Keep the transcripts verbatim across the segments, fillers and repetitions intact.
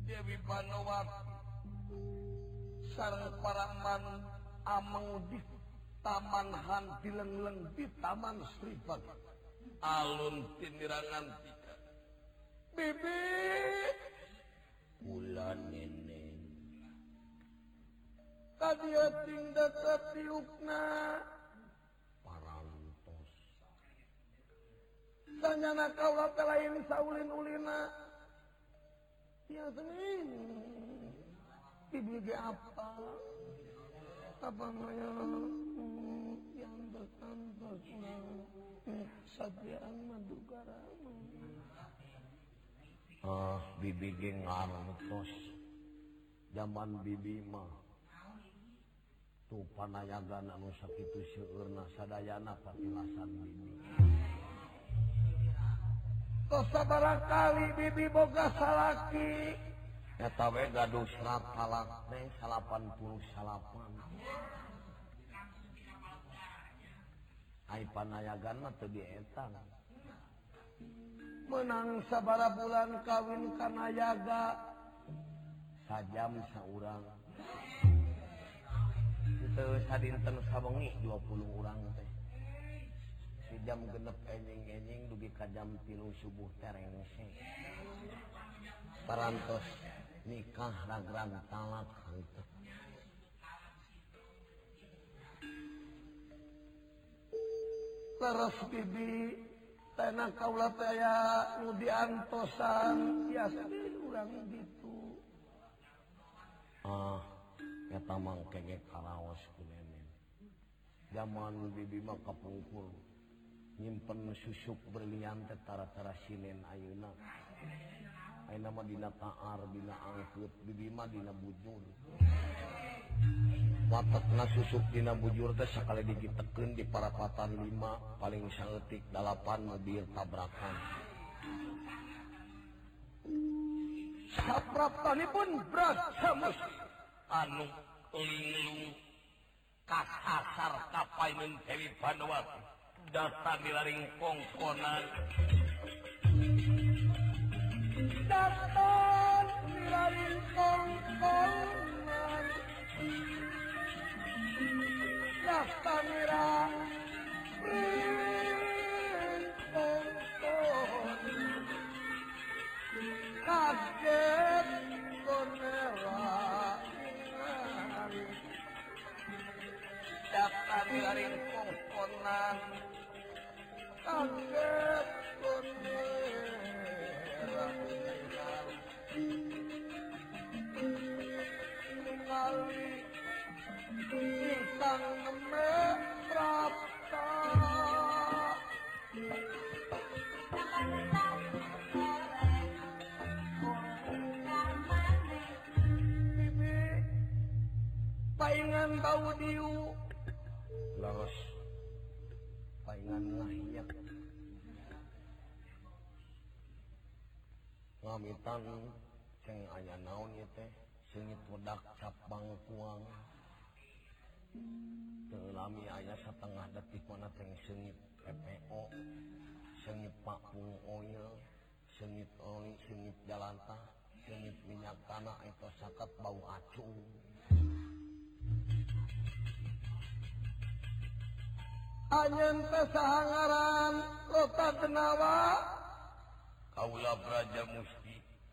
Dewi Banowati sareng paraman ameng di Taman Han dilengleng di Taman Sribat alun tinirangan tiga bibi kula neneng kadia tinggal tiukna parantos sanyana kaula teh lain saulin ulina ya senin bibi ge apa apa namanya yang berkantos Satriaan Madukara ah bibi ge ngartos zaman bibi mah tuh panayagan anu sakitu seueurna sadayana patilasan bibi tos sabaraha kali bibi boga salaki eta we gaduh serat talak teh salapan puluh salapan ai panayagan mah teu dieta menang sabaraha bulan kawin kana yaga sajam saurang teu sadinten sawengi dua puluh urang teh si jam genep enjing-enjing dugi ka jam tilu subuh terengse parantos nikah ragrag talak henteu leres bibi tena kaula teh aya nu diantosan biasa urang gitu ah eta mangke ge karaos ku nenen zaman bibi mah kapungkur nyimpen susuk berlian teh tara-tara sinen ayeuna ayeuna mah dina taar dina angkeut bibi mah dina bujur watekna susuk dina bujur teh sakali digitekeun di parapatan lima paling saeutik dalapan mobil tabrakan sapraptanipun berat samus anu linglung kasasar kapaeun Dewi Banowati datang dilaring kongkonan datang dilaring kongkonan datang dilaring kongkonan kaget konela datang dilaring kongkonan kaget konela ningali bintang merapta bibi paingan bau diu laros paingan ngahiyat ngamitan ceng aya naon ieu teh seungit wedak cap bangkuang teu lami aya satengah detik mana teh seungit P P O seungit pakung oil seungit oli seungit jalantah seungit minyak tanah eta sakat bau acung anyeun teh saha ngaran Lota Genawa kaula Braja Musti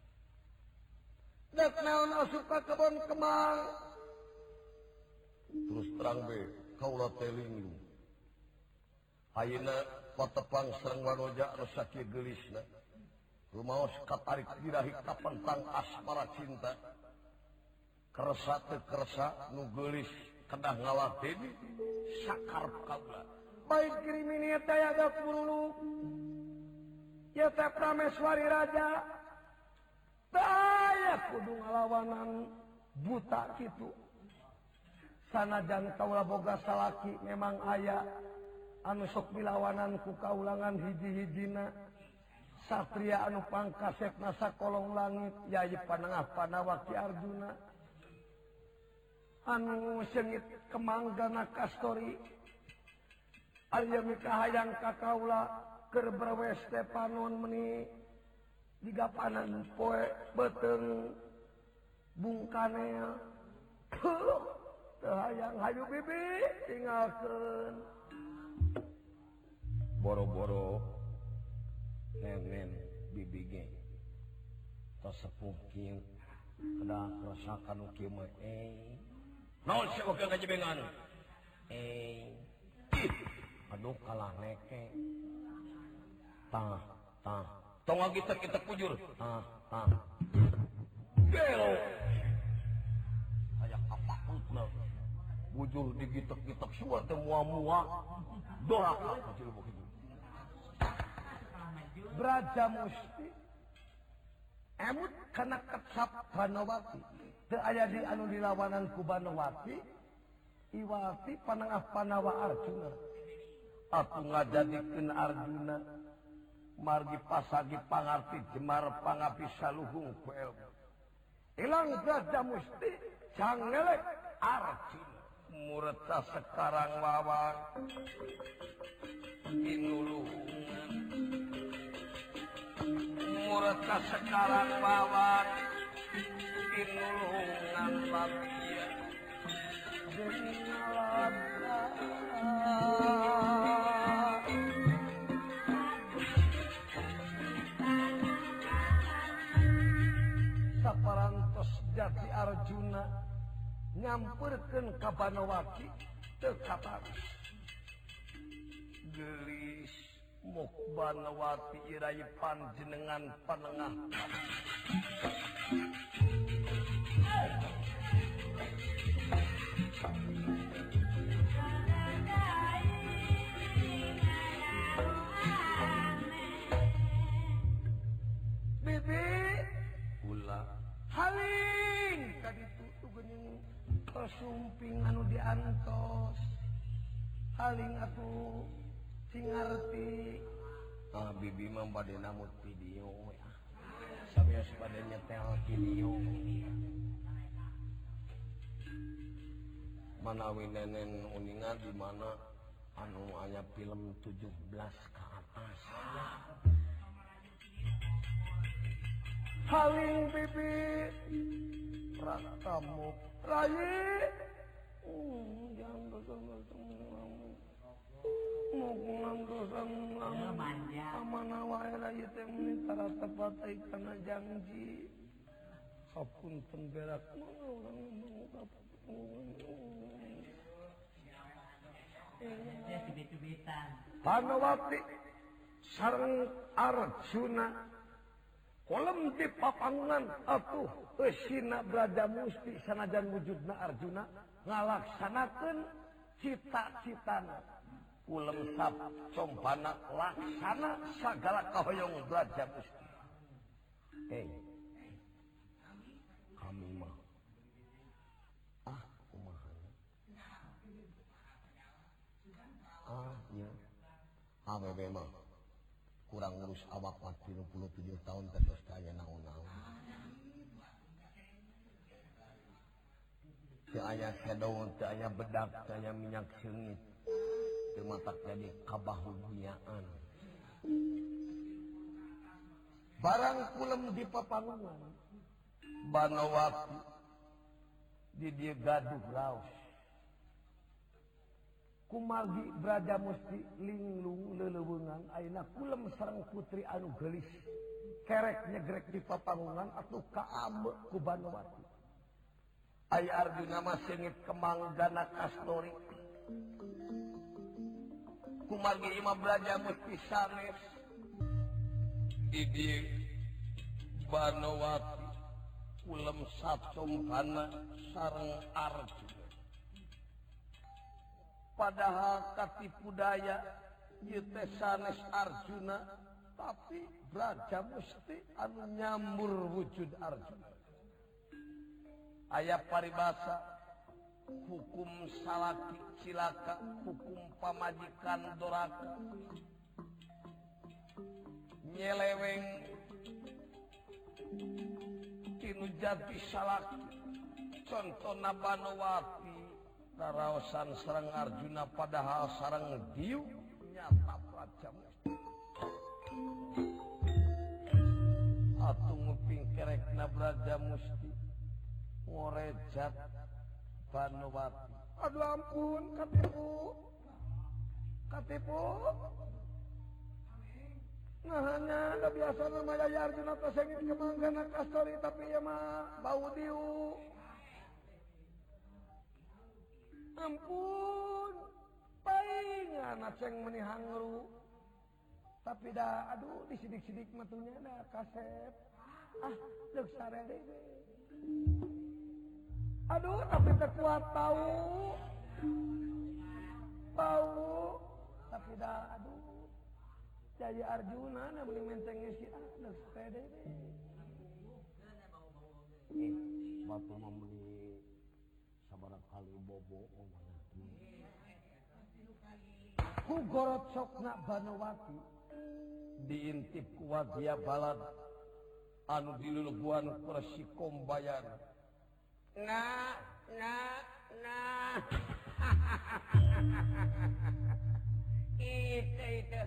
dek naon asup ka kebon kemang terus terang be kaula teh linglung ayeuna patepang sareng wanoja anu sakieu geulisna rumaos katarik dirahi ka pentang asmara cinta kersa teu kersa nu geulis kedah ngaladeuni sakarep kaula baik kirimini teh ada puluh ya teh prameswari raja saya kudu ngalawanan buta gitu sanajan kaula boga salaki memang aya anu sok bilawanan ku kaulangan hiji-hijina satria anu pangkasepna sakolong langit Yayi Panengah Panawaki Arjuna anu seungit kemanggana kastori aya mikahayang ka kaula keur brewes teh panon meuni digapanan poe beuteung Bung Kanel teu hayang hayu bibi tinggalkeun boro-boro nenen bibi ge tos sepuh kieu kada rasakan kieu mah eh naon sia wae ngajebengan eh aduh kalah neke tah tah tong agitek-gitek pujur tah tah gelo aya kapakutna bujur digitek-gitek suar teh mua-mua doraka kecil begitu Braja Musti emut kana kecap Banowati teu aya di anu dilawanan ku Banowati Iwati panangah Panawa Arjuna aku ngajadikeun Arjuna margi pasagi pangarti Jemar pangapi saluhung ku elmu ilang Braja Musti cangelek Arjuna mureta sekarang wawan inulungan mureta sekarang wawan inulungan babia dengalaka saparantos jati Arjuna nyamperkeun ka Banowati teu kataros gelis muk Banowati irai panjenengan panengah bibi ulah haling kaditu tu geuning pasumping anu diantos haling atuh singarti ah bibi mah bade namut video ya sabios bade nyetel video manawi nenen uningan di mana anu aya film tujuh belas ke atas haling bibi rakamu rayi uh, jangan betul-betul mukungan dosan amana wae rayi teh meni tara tepat kana janji hapunten berak urang ngomong Banowati sareng Arjuna kolem di papangan atuh eusina Braja Musti sanajan wujudna Arjuna ngalaksanakeun cita-citana ulem sap compana laksana sagala kahoyong Braja Musti eh kami mah ah kumaha ah nya awewe mah kurang ngurus awak tiga puluh tujuh tahun terus kaya naon-naon teu aya shadow teu aya bedak teu aya minyak seungit teu matak jadi kabahugiaan barang kulem di papangan Banowati di dieu gaduh raos kumargi Braja Musti linglung leuleungan ayeuna kulem sareng putri anu geulis kerek nyegrek di papangungan atuh kaambe ku Banowati aya Arjuna mah seungit kemanggana kastori kumargi imah Braja Musti sanes di dieu Banowati kulem sacompana sareng Arjuna padahal katipu daya ieu teh sanes Arjuna tapi Braja Musti anu nyambur wujud Arjuna aya paribasa hukum salaki cilaka hukum pamajikan doraka nyeleweng tinu jati salaki contona Banowati karaosan sareng Arjuna padahal sareng diu nyata Braja Musti atuh nguping kerekna Braja Musti Ngorejat Banowati. Aduh ampun, katipu. Katipu. Nah hanya ada biasa namanya ya Arjuna Tasengit kemanggana kastori tapi ya mah bau diu. Ampun, paling anak ceng menihangru. Tapi dah, aduh disidik-sidik matunya dah kasep. Ah, dek sarere. Aduh, tapi terkuat tahu. Tahu. Tapi dah, aduh. Jaya Arjuna na beli mentengnya si ada sepeda ini batu membeli sabarat kali bobo ku gorot sokna Banowati diintip ku wagia balad anu dilulubuan kursi kombayan nah nah nah itu itu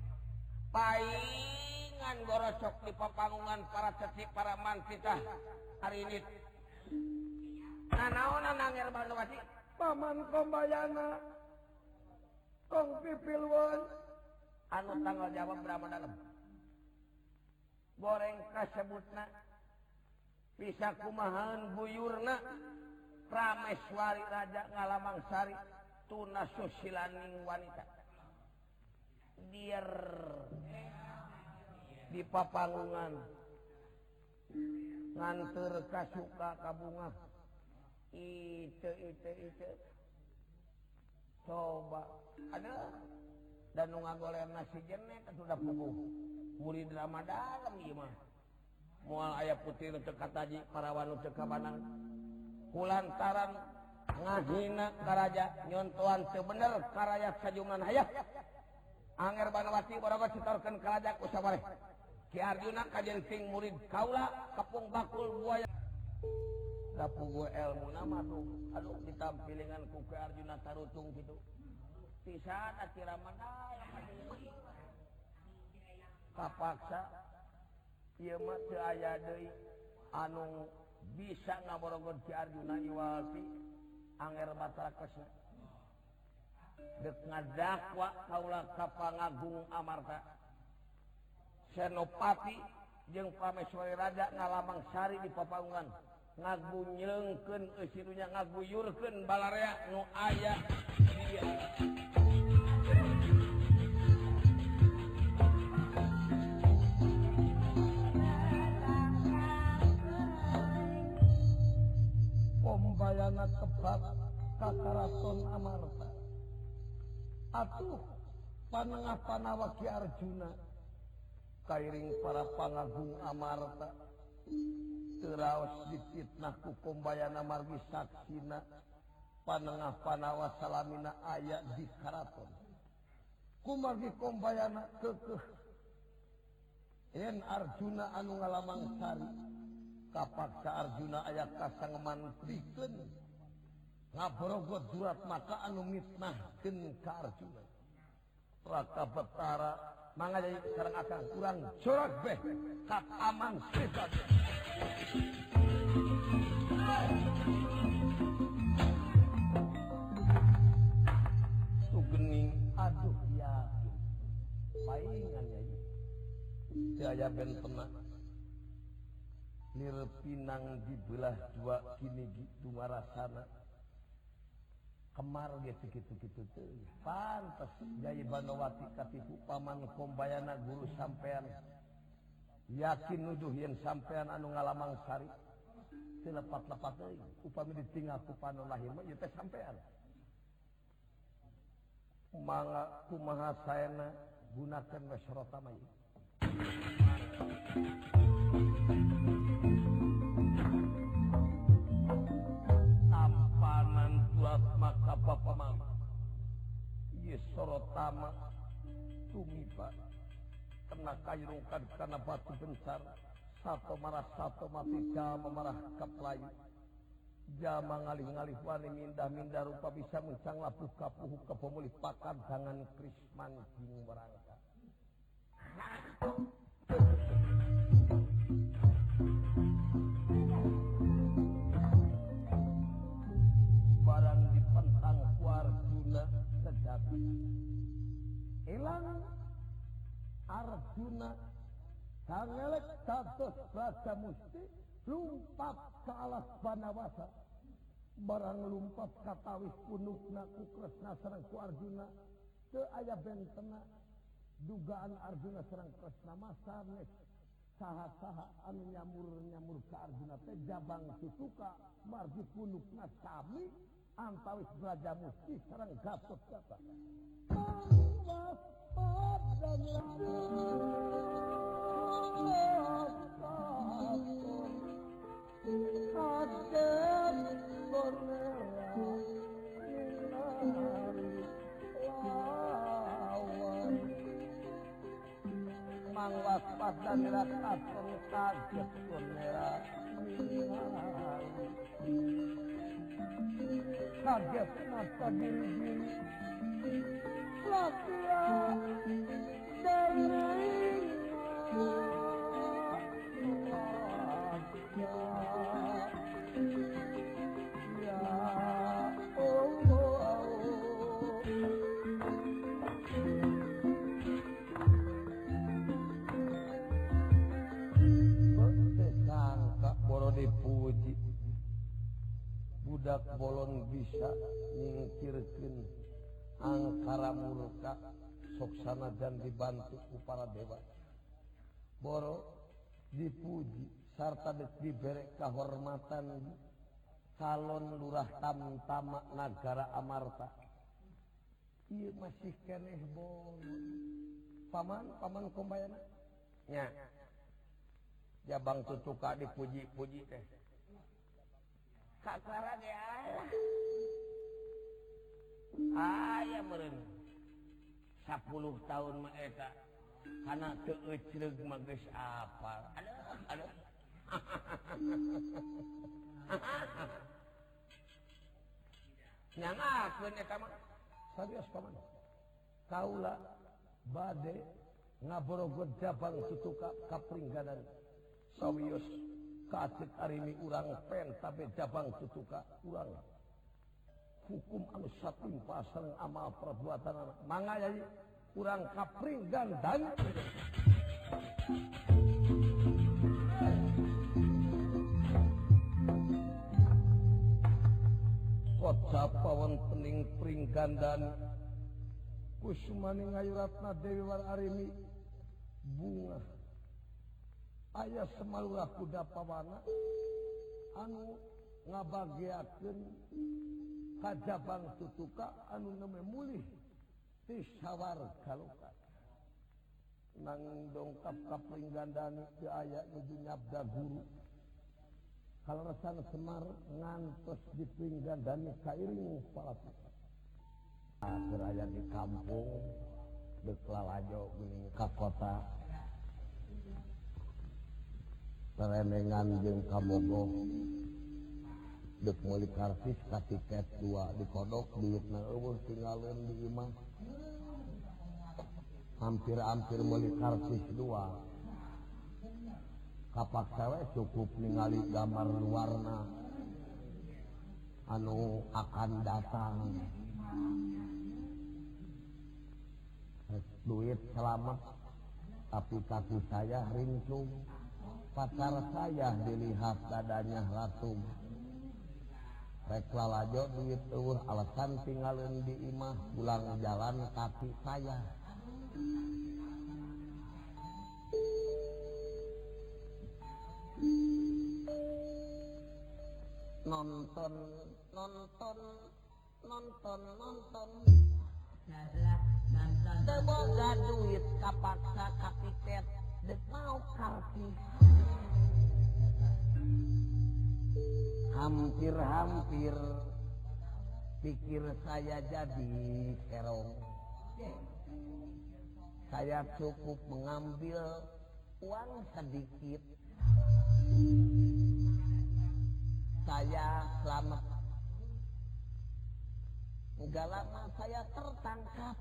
paingan gorosok di papangungan para ceci para mantitah hari ini. Nah naonan nangir Banowati paman kombayana kong pipilwon anu tanggal jawab berapa dalam goreng kasebutna bisa kumahan buyurna Prameswari Raja Ngalamang Sari tuna susilaning wanita biar di papangungan nganter kasuka kabunga itu itu itu coba ada dan ngagoleng nasi jenek sudah puguh murid drama dalam ieu mah moal aya putih teu kataji parawan teu kabanang kulantaran ngahina karaja nyontoan teu bener karayat sajungan hayah Anger Banowati borogo sitorkeun kalajak usabare Ki Arjuna kajenting murid kaula kepung bakul buaya dapugu ilmu nama tuh aduh ditampilingan ku Ki Arjuna tarutung gitu pisan akira mandal kapaksa ieu mah teu aya deui anu bisa ngaborogon Ki Arjuna iwalti anger batarakesna dek ngadakwa kaula ka Pangagung Amarta Senopati jeung Prameswari Raja Ngalamang Sari di papangungan ngagunyelengkeun eusirunya ngaguyurkeun balarea nu aya dia kombayana tebak ka Karaton Amarta atuh panengah panawa Ki Arjuna kairing para Pangagung Amarta teraos difitnah ku kombayana margi saksina panengah panawa salamina aya di karaton ku margi kombayana keukeuh yen Arjuna anu Ngalamang Sari kapaksa Arjuna aya kasangemantrikeun ngaborogot jurat maka anu mitnahkeun ka Arjuna Raka Betara mangga jadi sekarang akan kurang corak beh kat aman setan tugening aduh yakin paingan ya daya bentena lir pinang dibelah dua kini gitu marasana kemar gitu-gitu tuh pantes Jaya Banowati katipu paman kombayana guru sampean yakin nuduh yen sampean anu Ngalamang Sari teu lepat-lepat deui upami ditinggal ku panu lahir mah ieu teh sampean mangga kumaha saena gunakeun we sorota mah maka bapak mama ieu sorotama tumiba kena kairungkan karena batu bencar sato marah sato mati jama marah kaplayu jama ngalih-ngalih wani mindah-mindah rupa bisa mencang lapuh kapuh kepemulih pakan jangan krisman jing berangka Gatot Brajamusti lumpat ke alas Banawasa barang lumpat katawis punukna ku Kresna sareng ku Arjuna teu aya bentena dugaan Arjuna sareng Kresna mah sanes saha-saha anu nyamur-nyamur ka Arjuna teh jabang tutuka margi punukna sami antawis Brajamusti sareng Gatot Kaca. Mangwas padan rakat kaget kunera kaget mata diri-diri lakia dari dipuji budak bolon bisa nyingkirkeun angkara murka soksana dan dibantu ku para dewa boro dipuji sarta diberi kehormatan calon lurah Tamtama Nagara Amarta. Ieu masih keneh bolon paman paman kombayana nya jabang tutuka dipuji-puji teh kakara ge aya meureun sepuluh tahun mah eta kana teu ecreug mah geus apal aduh aduh nyangakeun eta mah sarios paman kaula bade ngaborogot jabang tutuka kapringganan sawios kacik arimi urang pen tabe jabang tutuka urang hukum anu satimpa sareng amal perbuatan mangga jadi urang kapringgandan kocap wontening pringgandan kusumani ngayuratna Dewi War Arimi bunga aya semalura kuda pawana anu ngabagiakeun kajabang tutuka anu neme mulih ti sawarga loka nang dongkap ka pringgandani teu aya nuju nyabda guru kalarasan Semar ngantos di pringgandani kairing palapita akhir aya di kampung deuk lalajo geuning ka kota remengan jeung kabogoh deuk meuli kartis ka tiket dua dikodok duitna eueuh tinggalin di imah hampir-hampir meuli kartis dua kapaksa we cukup ningali gambar warna anu akan datang duit selamat tapi kaki saya rincung pacar saya dilihat dadanya latung rek lalajo duit eueuh alasan tinggalin di imah pulang jalan kaki saya nonton nonton nonton nonton teboga duit kapaksa kapitet dek mau kartis hampir-hampir pikir saya jadi kerong saya cukup mengambil uang sedikit saya selamat enggak lama saya tertangkap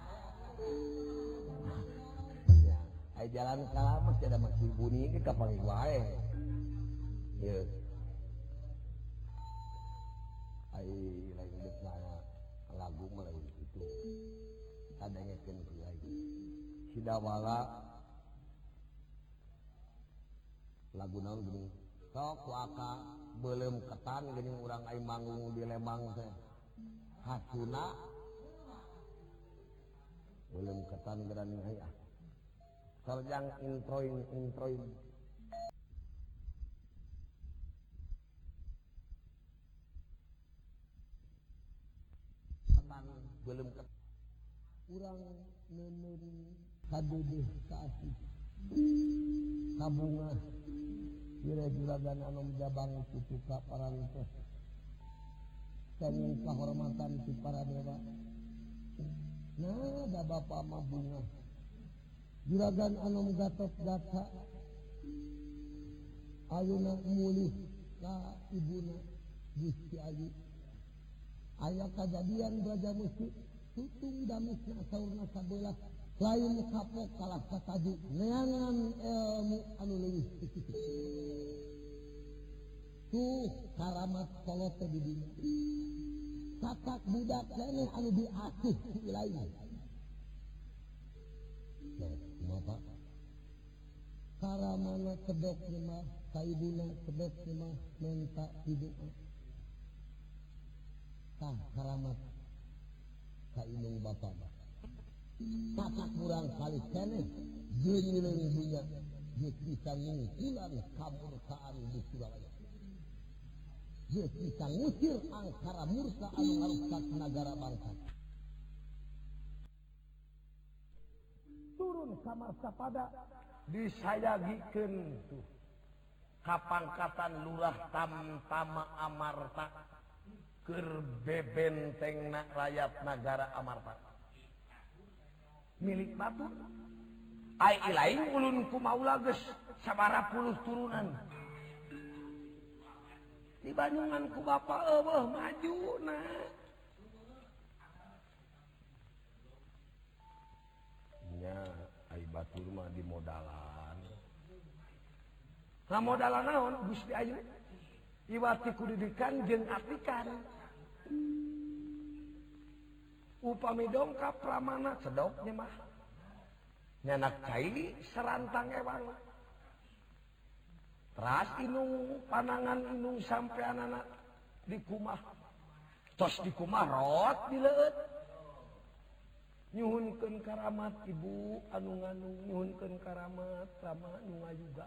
ya, ay jalan kalamas ada masih bunyi ke kapal wae ya ay lain dek lagu mulai itu adanya kenku lagi sidawala lagu naon geuning sok waka beuleum ketan geuning urang aing manggung di Lembang teh hatuna beuleum ketan gerani aya sarjang introin introin ketan beuleum ketan urang neuneuh kadeudeus kasih kabunga kira juragan anu jabang kitu ka parantos kenging kahormatan ti para dewa nah da bapa mah bunga juragan anu gatot gata ayeuna mulih ka ibuna Gusti Ayu aya kajadian Braja Musti tutung damisna saurna sabelah lain kapok kalah kataju neangan ilmu anu leuwih tuh karamat kolot teh di dinya katak budak keneh anu diasuh ku ilahi nah kumaha karamana kedok mah ka ibuna kedok mah menta hidup tah karamat ka indung bapa tatak kurang kali keneh jeung dunya geus bisa ngungkulan kamurkaan di Surabaya geus bisa ngusir angkara murka anu ngarusak nagara bangsa turun ka Marsapada disayagikeun tuh kapangkatan Lurah Tamtama Amarta keur bebentengna rakyat nagara Amarta milik batur ai ilaing ulun ku maula geus sabaraha puluh turunan di Banyuman ku bapa eueuh majuna nya ai batur mah di modalan ngamodalan naon Gusti Ayu iwati kudidikan jeung atikan upami dongkap pramana sedoknya mah nyanak caili serantang ewang teras inung panangan inung sampai anak di kumah tos di kumah rot dileut nyuhunkeun karamat ibu anu ngandung nyuhunkeun karamat rama nu ngajuga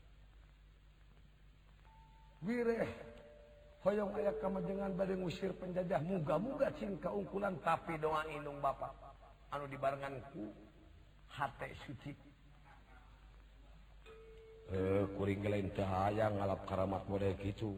wireh hoyong aya kamajengan bade ngusir penjajah muga-muga cing kaungkulan tapi doa indung bapa anu dibarengan ku hate suci eh kuring lain teh hayang ngalap karamat model kitu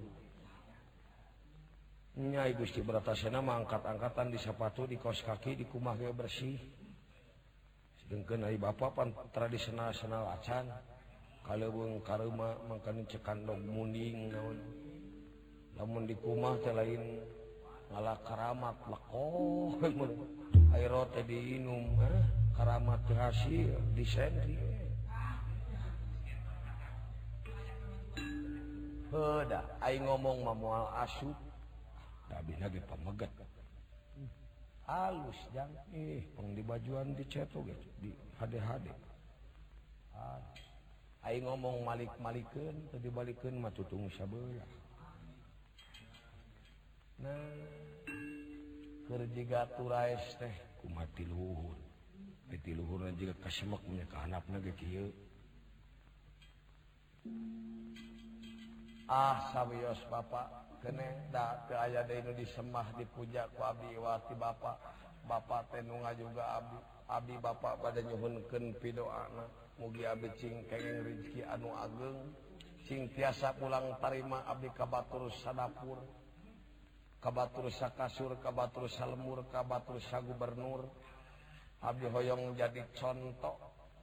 nya Gusti Bratasena mah angkat-angkatan di sapatu di kaos kaki di kumah ge bersih sedengkeun ai bapa pan tradisional-tradisional acan kaleuweung kareuma mangkana cekandog munding naon lamun di kumah teh lain ngalah karamat lekoh air teh diinum eh karamat teh hasil disentri heuda aing ngomong mah moal asup dabina ge pameget halus jang eh pang di bajuan diceto ge di hade-hade aing ngomong malik-malikeun teu dibalikeun mah tutung sabeula nah keur jiga turaes teh kumaha ti luhur ti luhurna jiga kasemek nya ka handapna ge kieu ah sawios bapa keneh da teu aya deui nu disemah dipuja ku abdi wati bapa bapa teh nu ngajuga abdi abdi bapa bade nyuhunkeun pidoana mugi abdi cing kenging rezeki anu ageng cing tiasa pulang tarima abdi ka batur sadapur ka batur sakasur ka batur salemur ka batur sagubernur abdi hoyong jadi contoh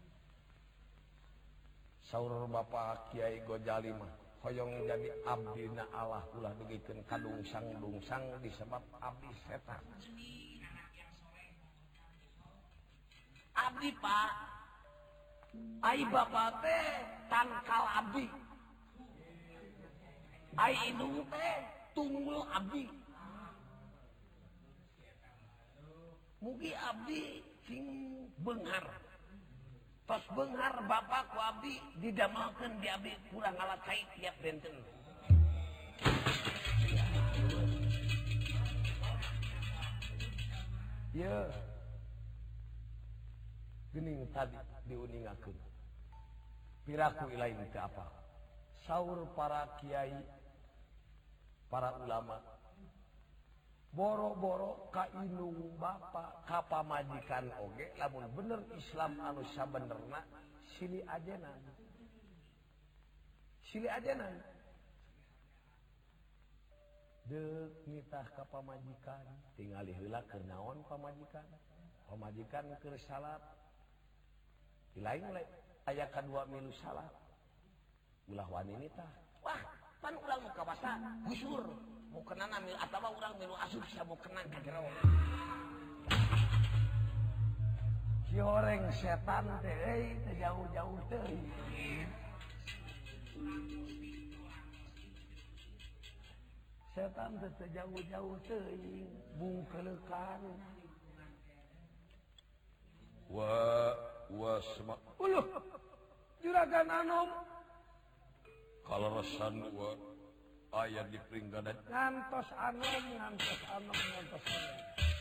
saur bapa Kiai Gojali mah hoyong jadi abdina Allah ulah dugikeun kadungsang-dungsang disebab abdi setan abdi Pak ai bapa teh tangkal abdi ai indung teh tunggul abdi mugi abdi sing beunghar tos beunghar bapak ku abdi didamelkeun di abdi kurang alat cai tiap benten. Ya. Gening tadi diuningakeun. Piraku ilain teh apa? Saur para kiai, para ulama. Boro-boro ka indung bapa, ka pamajikan oge lamun bener Islam anu sabenerna silih ajenan. Silih ajenan. Deuk nitah ka pamajikan, tingali heula keur naon pamajikan. Pamajikan keur salat. Lain lain aya kadua milu salat. Ulah wani nitah. Wah, pan ulang muka basa gusur. Mau kenana mil atawa urang milu asup sa mau kenan ka jero. Si horeng setan teh euy teh jauh-jauh teh. Setan teh jauh-jauh teh bungkelekan. Wa wa sama. Uluh. Juragan Anom. Kalarasan wa aya di peringganan ngantos Anom, ngantos Anom, ngantos Anom.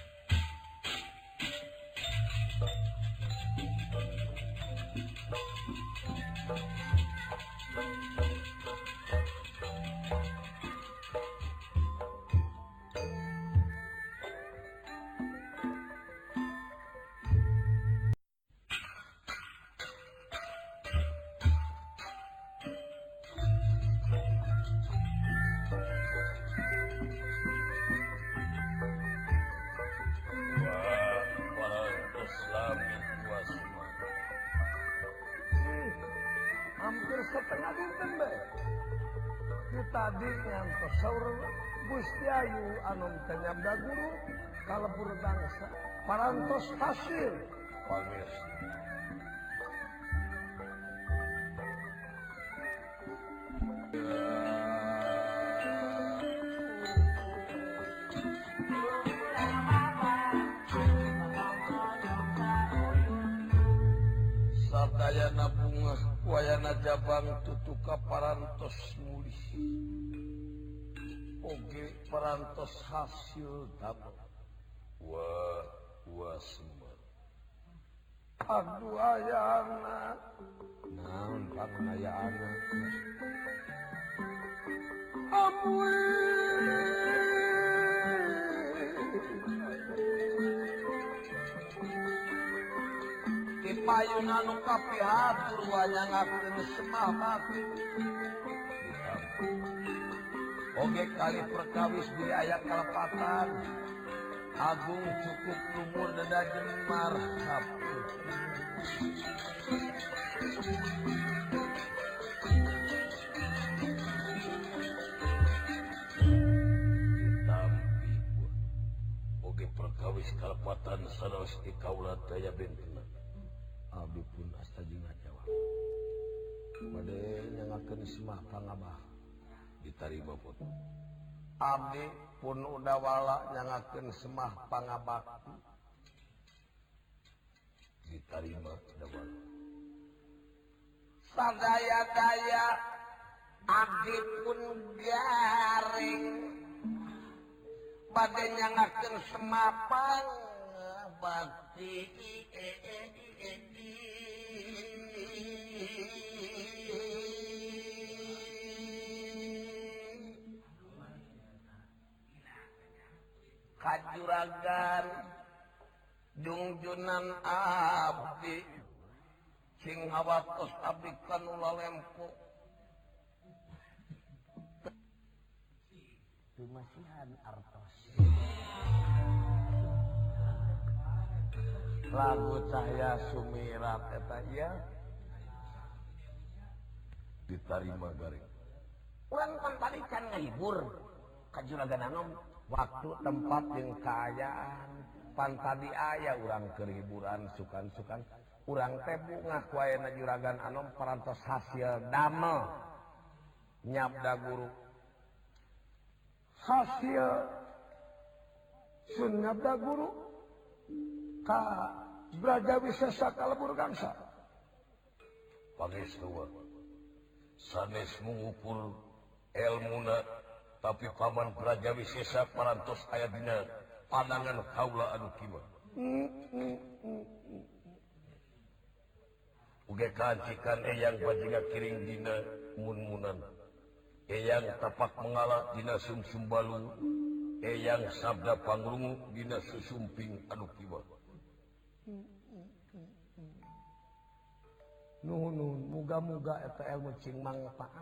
Setengah dinten bae. Tadi ngantos saur Gusti Ayu Anom teh nyabda guru kalebur bangsa parantos hasil pamirsa. Sadayana bunga wayana jabang tutuka parantos mulih oge parantos hasil damel wa wa semar aduh ayana naon pangayaana ampun payun anu kapihatur wanyangakeun semahat oge kali perkawis di aya kalepatan agung cukup lumur dada jemar saput ditampi oge perkawis kalepatan saraos di kaula daya bentena abdi pun asta jeung Jawa. Bade nyangakeun semah pangabah ditarima pun. Abdi pun udah wala nyangakeun semah pangabakti ditarima udah wala. Sadaya-daya abdi pun garing bade nyangakeun semah pangabakti. Kajuragan jungjunan abdi sing hawatos abdi kanula lempo Dumasihan artos lagu cahaya sumirat eta ieu ditarima garing urang pan tadi can ngahibur ka Juragan Anom waktu tempat jeung kaayaan pan tadi aya urang keur hiburan sukan-sukan urang teh bunga ku ayeuna Juragan Anom parantos hasil damel nyabda guru hasil sun nyabda guru ka Brajawisesa kalebur gangsa pangestu sanes mengukur ilmuna tapi paman Brajawi Sesa parantos aya dina pandangan kaula anu kieu uge kancikan eyang bajingan kiring dina mun-munan eyang tapak mengalah dina sumsum balu eyang sabda pangrungu dina susumping anu kiwa nuhun muga-muga eta ilmu cing mangpaat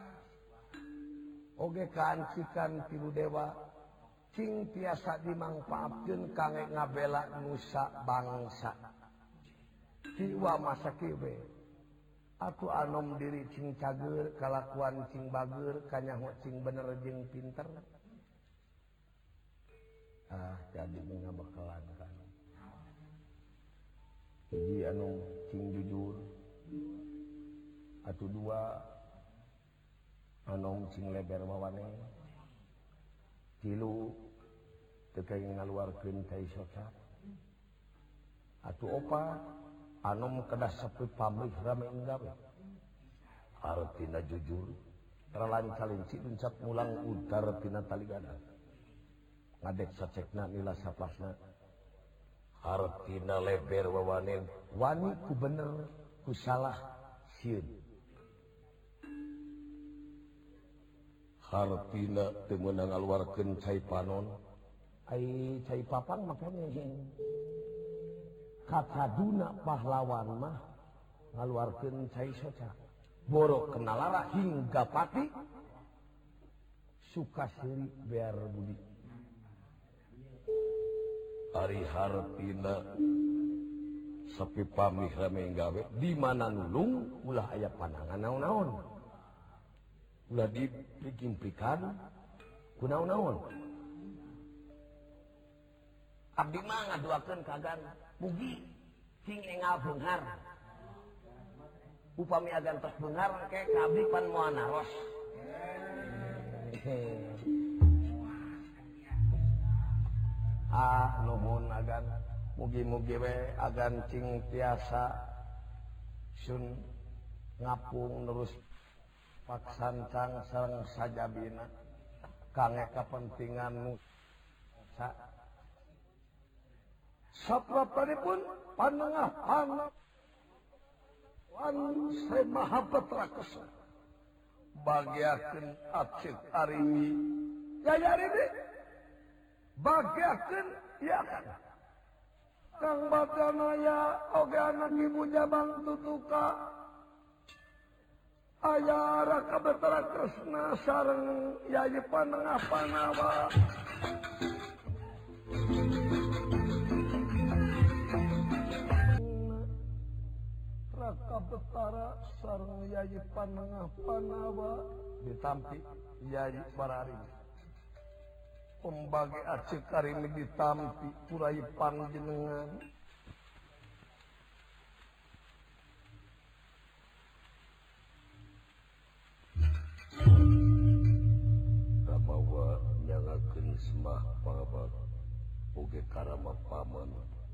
oge kancikan tilu dewa cing tiasa dimangpaatkeun kangge ngabela nusa bangsa jiwa masa kieu we atuh anom diri cing cager kalakuan cing bager kanyaho cing bener jeung pinter ah jadi ngabakalan kan hiji anu cing jujur atuh dua anom cing leber wawane tilu teu kenging ngaluarkeun cai soca atuh opat anom kedah sepi pamrih rame enggawe artina jujur terlancalin si uncap mulang udar tina taligana ngadek sacekna nila saplasna artina leber wawanen wani ku bener ku salah sieun hartina teu meunang ngaluarkeun cai panon ai cai papang makanya kataduna pahlawan mah ngaluarkeun cai soca borok kenalara hingga pati suka siri bear budi ari hartina sepi pamih rame gawe di mana nulung ulah aya pandangan naon-naon ulah diplik-implikan ku naon-naon abdi mah ngaduakeun kagan mugi cing engal beunghar upami agan tos beunghar ke kabdi pan moal naros ah nuhun agan mugi-mugi we agan cing tiasa sun ngapung terus paksancang sareng sajabina kangge kapentingan nu sa saprapanipun panengah anak wan saya maha petrakesa bagiakeun acik arini yaya arini bagiakeun ya kan kang badanaya oge anak ibu jabang tutuka aya raka betrakesna sareng yayi panengah panawa raka betara sareng yayi panengah panawa ditampi yayi barari pembagi acik karimi ditampi purai panjenengan ramawa nyangakeun semah pabat oge karama paman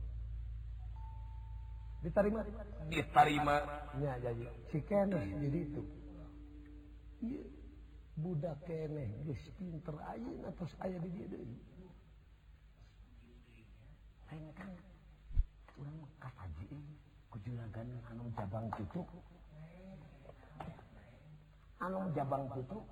diterima diterima nya jadi si keneh jadi itu iya budak keneh geus pinter ayeuna tos aya di dieu deui lain kan urang mah kataji ku juragan anu jabang tutuk anu jabang tutuk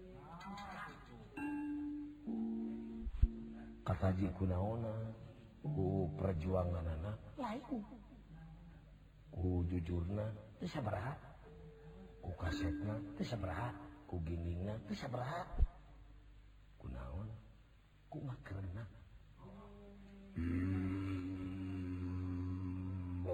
kataji kunaona ku perjuanganana lain ku jujurna teu sabaraha ku kasetna teu sabaraha ku giningna teu sabaraha kunaon ku makeunna hmm.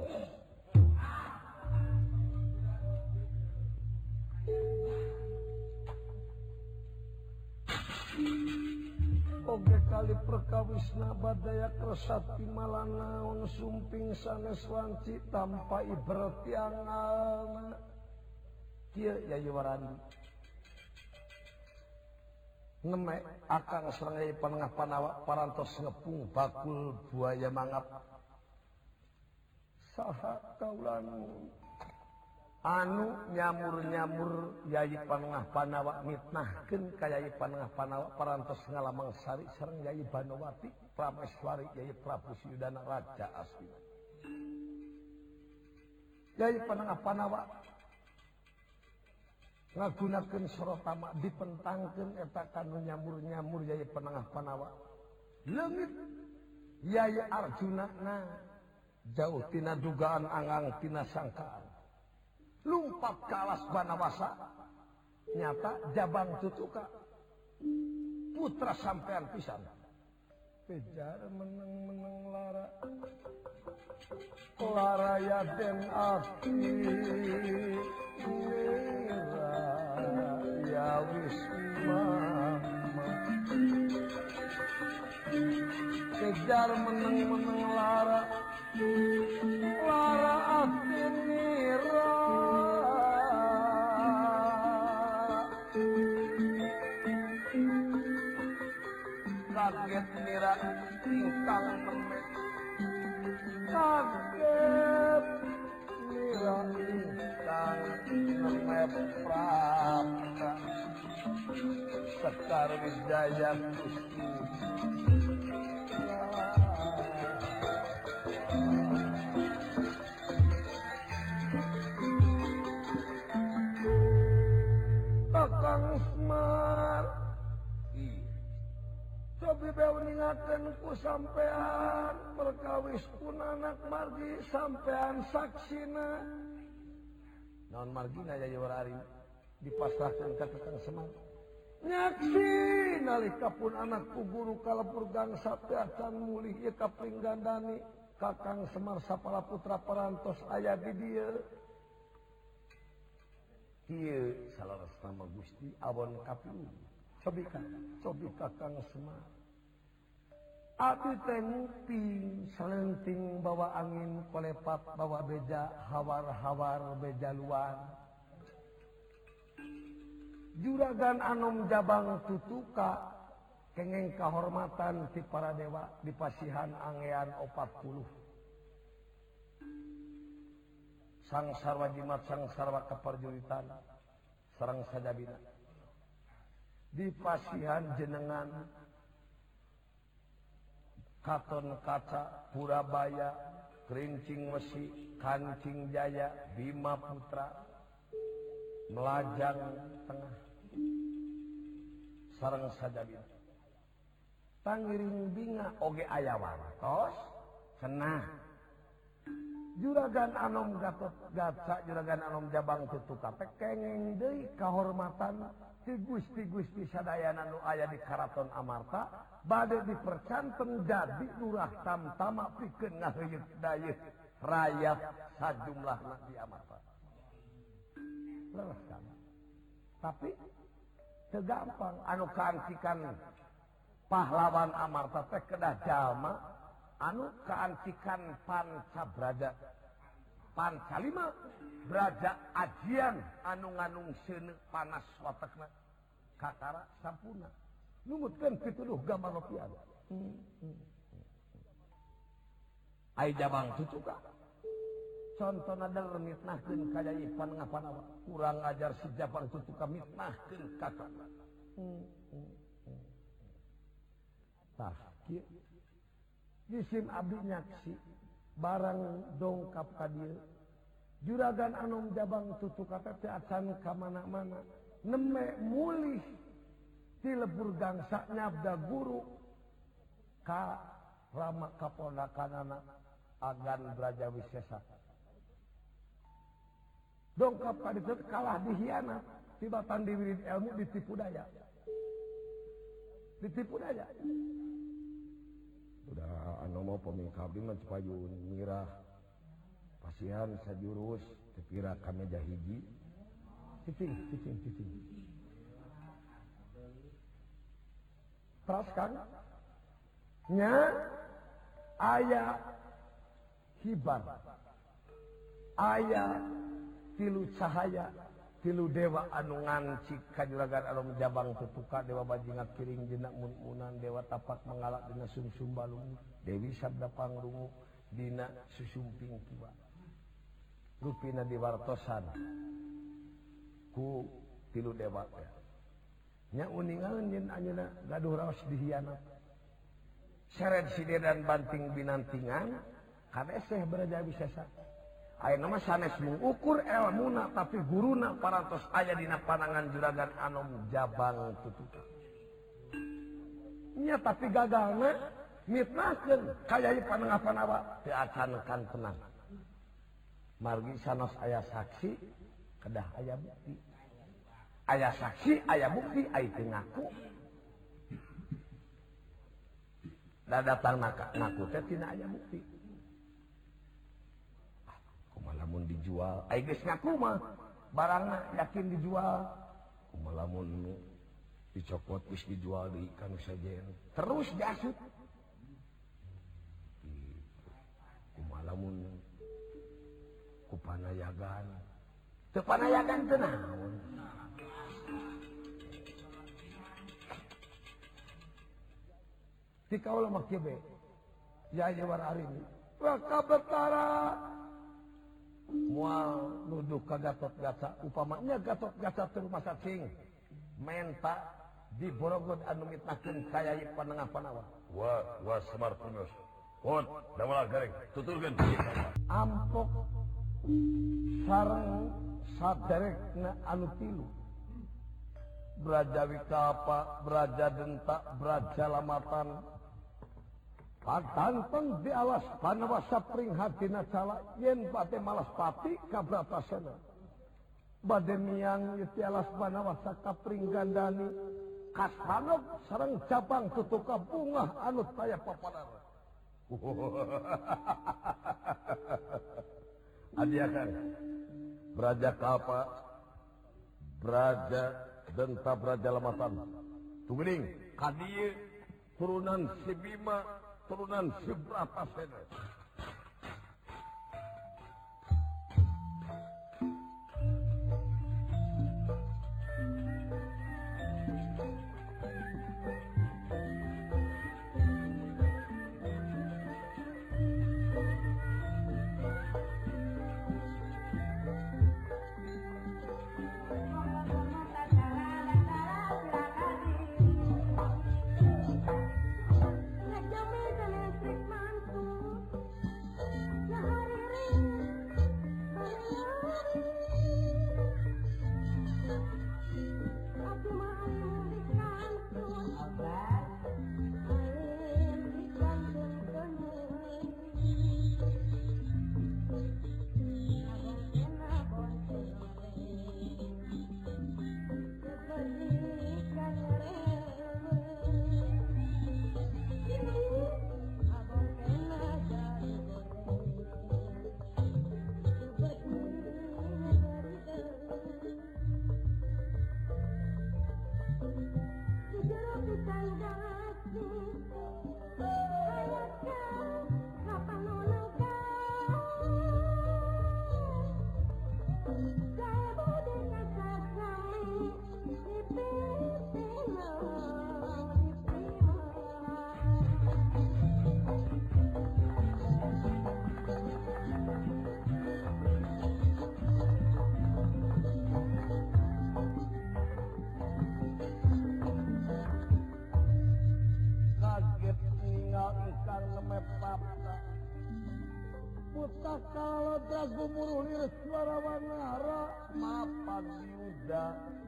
oge kali perkawisna badaya kresati malanaon sumping sanes wanci tanpa ibrat tiangalna kieu yayi warandi ngemek akang serangay panengah panawa parantos ngepung bakul buaya mangap saha kaulanu anu nyamur-nyamur Yai Panengah Panawa mitnahkeun ka Yai Panengah Panawa parantos ngalamang sari sareng Yai Banowati Prameswari Yai Prabu Siyudana Raja Astina. Yai Panengah Panawa ngagunakeun sorotama dipentangkeun eta kanu nyamur-nyamur Yai Panengah Panawa. Leungit Yai Arjuna na jauh tina dugaan angang tina sangkaan. Lumpat ke alas Banawasa nyata Jabang Tutuka putra sampean pisan. Kejar meneng-meneng lara lara yaden aki mira ya wisma kejar meneng-meneng lara lara aki mira kaget mira ingkang memek kaget mira ingkang memek prapta Sekar Wijaya Gusti Kakang Semar cobi beu ningakeun ku sampean perkawis pun anak margi sampean saksina. Naon margina Yai Warari dipasrahkeun ka Kakang Semar. Nyaksi nalika pun anakku guru kalebur gangsa teu acan mulih ieu kapringgandani Kakang Semar sapala putra parantos aya di dieu. Ieu salaresna Gusti awon kapilu. Cobi ka, cobi Kakang Semar. Abdi teh nguping salenting bawa angin kolepat bawa beja hawar-hawar beja luar. Juragan Anom Jabang Tutuka kengeng kahormatan ti para dewa di pasihan angean opat puluh. Sang sarwa jimat sang sarwa keperjulitan sareng sajabina. Di pasihan jenengan Katon Kaca Purabaya Kerincing Wesi Kancing Jaya Bima Putra Melajang Tengah sareng sajabina Tangiring Binga oge aya wantos cenah Juragan Anom Gatot Gaca Juragan Anom Jabang Tutuka teh kengeng deui kahormatan ti Gusti-Gusti sadayana nu aya di Karaton Amarta bade dipercanten jadi lurah tamtama pikeun ngaheuyeut dayeuh rakyat sajumlahna di Amarta. Leres kan? Tapi teu gampang anu kaancikan pahlawan Amarta teh kedah jalma anu kaancikan Pancabraja. Pancalima Braja ajian anu nganung seuneu panas watekna kakara sampurna numutkeun pituduh gamanopian. Hmm, hmm, hmm. Ai Jabang Tutuka contona der mitnahkeun ka Yai Panengah Panawa kurang ajar si Jabang Tutuka mitnahkeun kakana. Hmm, hmm, hmm. Tah kieu jisim abdi nyaksi barang dongkap ka dieu Juragan Anom Jabang Tutuka teh acan ka mana-mana neme mulih ti lebur gangsa nyabda guru ka Rama kaponakanana Agan Brajawisesa. Dongkap ka dieu kalah dihianat tibatan diwirid ilmu ditipu daya. Ditipu daya. Udah anu mau pemingka abdi mah payun mirah pasihan sajurus tepira ka meja hiji cicing cicing cicing terus kan nya aya hibar aya tilu cahaya tilu dewa anu ngancik ka Juragan Anom Jabang Tutuka dewa bajingat kiring jenak mun-munan dewa tapak mengalak dina sumsum balung Dewi Sabda Pangrungu dina susumping kiwa rupina diwartosan ku tilu dewa nya uningan yen anjeunna gaduh raos dihianat seret side dan banting binantingan kadeseh Brajawi Sesa ayeuna mah sanes mengukur elmuna tapi guruna parantos aya dina panangan juragan anom jabang tutup nya tapi gagalna mitnahkeun kaya ieu panengah-panawa teu acan-acan tenang margi sanos aya saksi kedah aya bukti aya saksi aya bukti ai teu ngaku da datang ngaku teh tina aya bukti ah, kumaha lamun dijual ai geus ngaku mah barangna yakin dijual kumaha lamun dicopot geus dijual di kanu sajen terus diasut kumaha lamun ku panayagan teu panayagan teu naon ti kaula mah kieu be ya ya war ari wa kabetara moal nuduh ka Gatot-Kaca upamanya Gatot-Kaca teu masa cing menta di Borogon anu mitnahkeun kaya ieu panengah-panawa wa wa Semar Punyos Pot, damel gareng, tuturkeun ampok sareng saderekna anu tilu Brajawi Kapa, Braja Denta, Braja Lamatan patanteng di alas Panawasa pringhatina cala yen bade malas pati kabratasana bade miang di alas Panawasa kapringgandani kasanop sareng cabang tutuka bunga anu taya papanar adiakan Braja Kapa, Braja Denta, Braja Lamatan tungguing kadieu turunan si Bima turunan si Bratasena kalau Dragumuruh liris suara wanara mapan yuda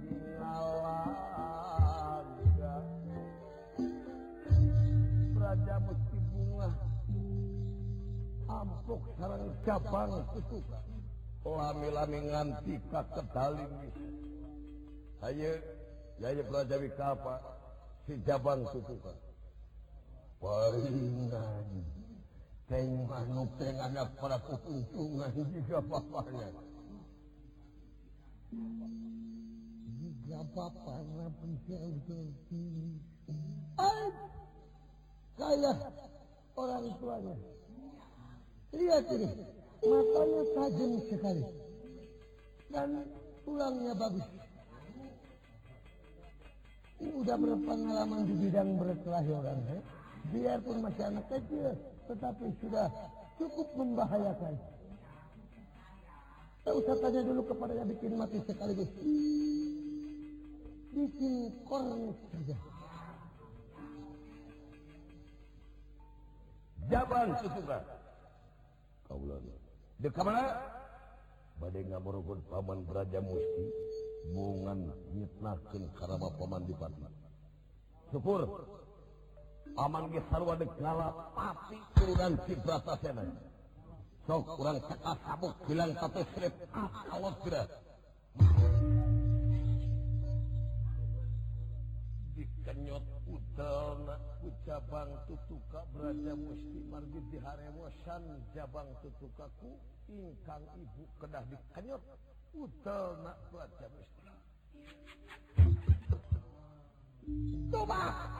ngalaga Braja Musti Bunga ampuk sareng cabang tutuka lami-lami nganti ka kedali ayo yaya Brajawi Kapa si cabang tutuka paringan Teng manuk teng anak para keuntungan juga bapaknya. Juga bapaknya penjauh Ay, kayak orang tuanya. Lihat ini, matanya tajam sekali. Dan tulangnya bagus. Ini udah berpengalaman di bidang berkelahiran. Eh? Biarpun masih anak kecil. Tetapi sudah cukup membahayakan. Tak usah tanya dulu kepada yang bikin mati sekaligus. Bikin kornet saja. Jabang Tutuka. Kaulan. Dek mana? Badai ngamorogon paman Braja Musti. Bungan nyitnahkeun karama paman Dipati. Syukur. Aman ge sarua dek ngala pati turunan Cipratasena. Sok urang cekas sabuk bilang satu strip alot geura. Dikenyot udelna ku Jabang Tutuka Braja Musti margi diharemosan Jabang Tutuka ku ingkang ibu kedah dikenyot udelna Braja Musti. Coba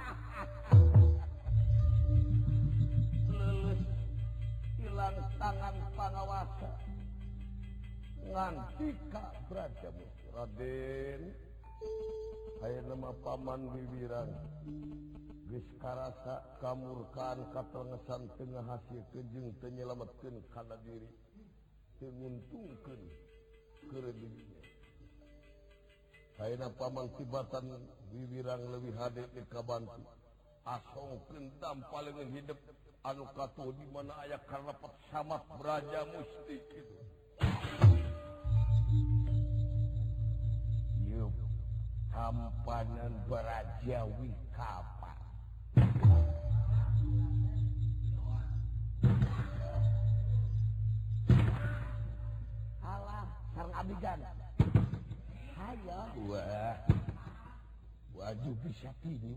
lulus hilang tangan pangawasa nganti ka Braja Musti. Raden aya nama paman Wiwirang geus karasa kamurkaan katrengesan teu ngahasilkeun jeung teu nyelametkeun kana diri teu nguntungkeun keureudinya. Ayeuna paman tibatan Wiwirang leuwih hade teu kabantu asongkeun dampalengan hidup anu katuh di mana aya karepet samat Braja Musti kitu. Yup, hampanan Braja Wikapa. Alah, sareng abigan. Hayo. Wah. Waju bisa tinju.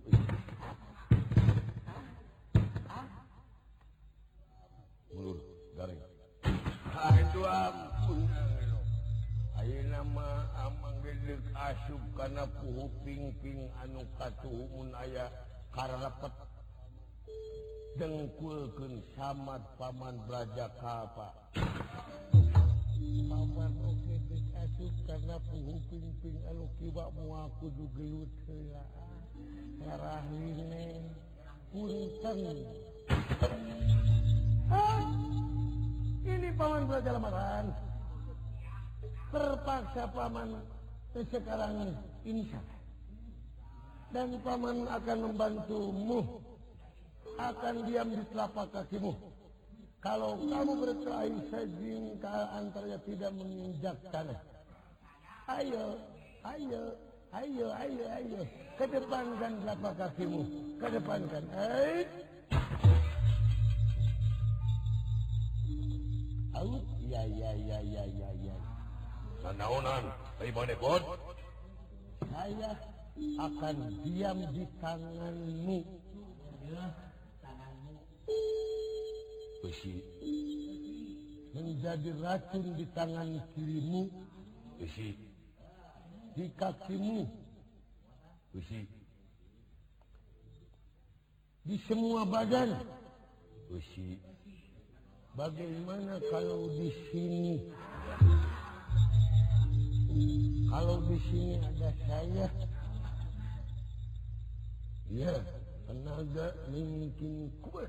Mulur garing. Aduh ampun. Ayeuna mah amang gedeuk asup kana puhu pingping anu katuhun aya karepet dengkulkeun samat paman Braja Kapa. Paman oge geus asup kana puhu pingping anu kiba moal kudu gelut heula. Ngarahline punten. Ah, ini paman Braja lamaran. Terpaksa paman sekarang insya dan paman akan membantumu, akan diam di telapak kakimu. Kalau kamu berkelahi sejengkal antaranya tidak menginjak tanah. Ayo, ayo, ayo, ayo, ayo, kedepankan telapak kakimu, kedepankan. Hei. Au, ya, ya, ya, ya, ya, ya. Nanaonan, ai manehon? Saya akan diam di tanganmu. Besi. Menjadi racun di tangan kirimu. Besi. Di kakimu. Besi. Di semua badan. Besi. Bagaimana kalau di sini? Kalau di sini ada saya, ya tenaga mungkin kuat.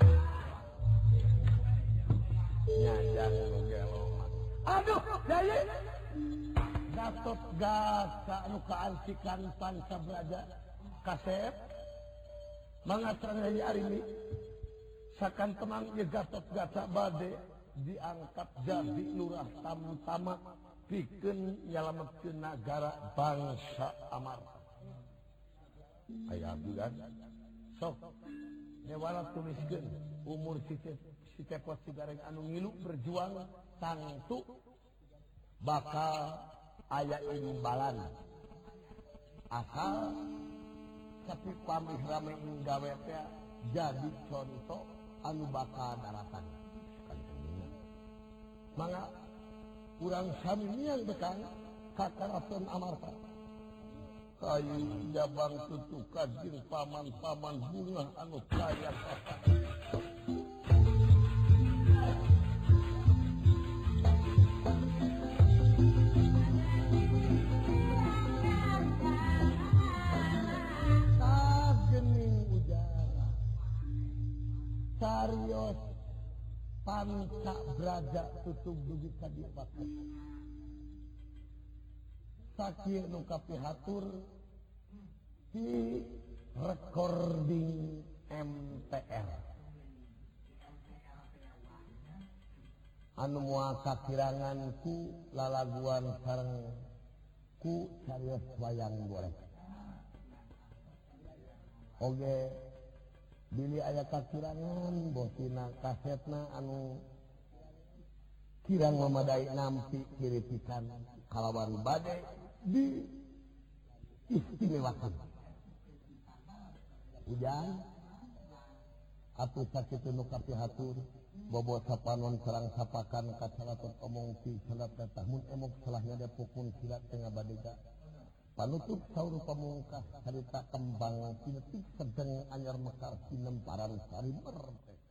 Nyajang gelongan. Aduh, Jaya. Gatot gasa anu kaantikan Panca Braja Kasep. Mangatrang dari arimi. Sakan temang ye Gatot gasa bade diangkat jadi lurah tamtama. Pikeun nyalametkeun nagara bangsa Amarta. Aya abdi kan? Sok nyewala tuliskeun umur si Cepot Cigareng anu ngilu berjuang tangtu bakal aya imbalan. Asal sapi pamih rame gawe teh jadi contoh anu bakal daratan. Mangga urang samian bekang kakaraton Amarta. Kayu Jabang Tutuka jeung paman-paman bunga anu kaya kata. Sagening ujara. Carios Panca Braja tutug dugi ka dieu bakat. sakieu nu kapihatur di recording M T R anu moal kakirangan ku lalaguan sareng ku cariyos wayang golek oge bili aya kakirangan bosina kasetna anu kirang memadai nampi kiritikan kalawan bade di istimewakan ujan atuh sakitu nu kapihatur bobo sapanon sareng sapakan kacalatot omong ti salat tahun emok salahnya depukun silat tengah badega panutup saur pamungkas harita kembang sinetik sedeng anyar mekar sinemparan sari merte